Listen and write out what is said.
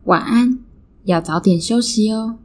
晚安，要早點休息哦。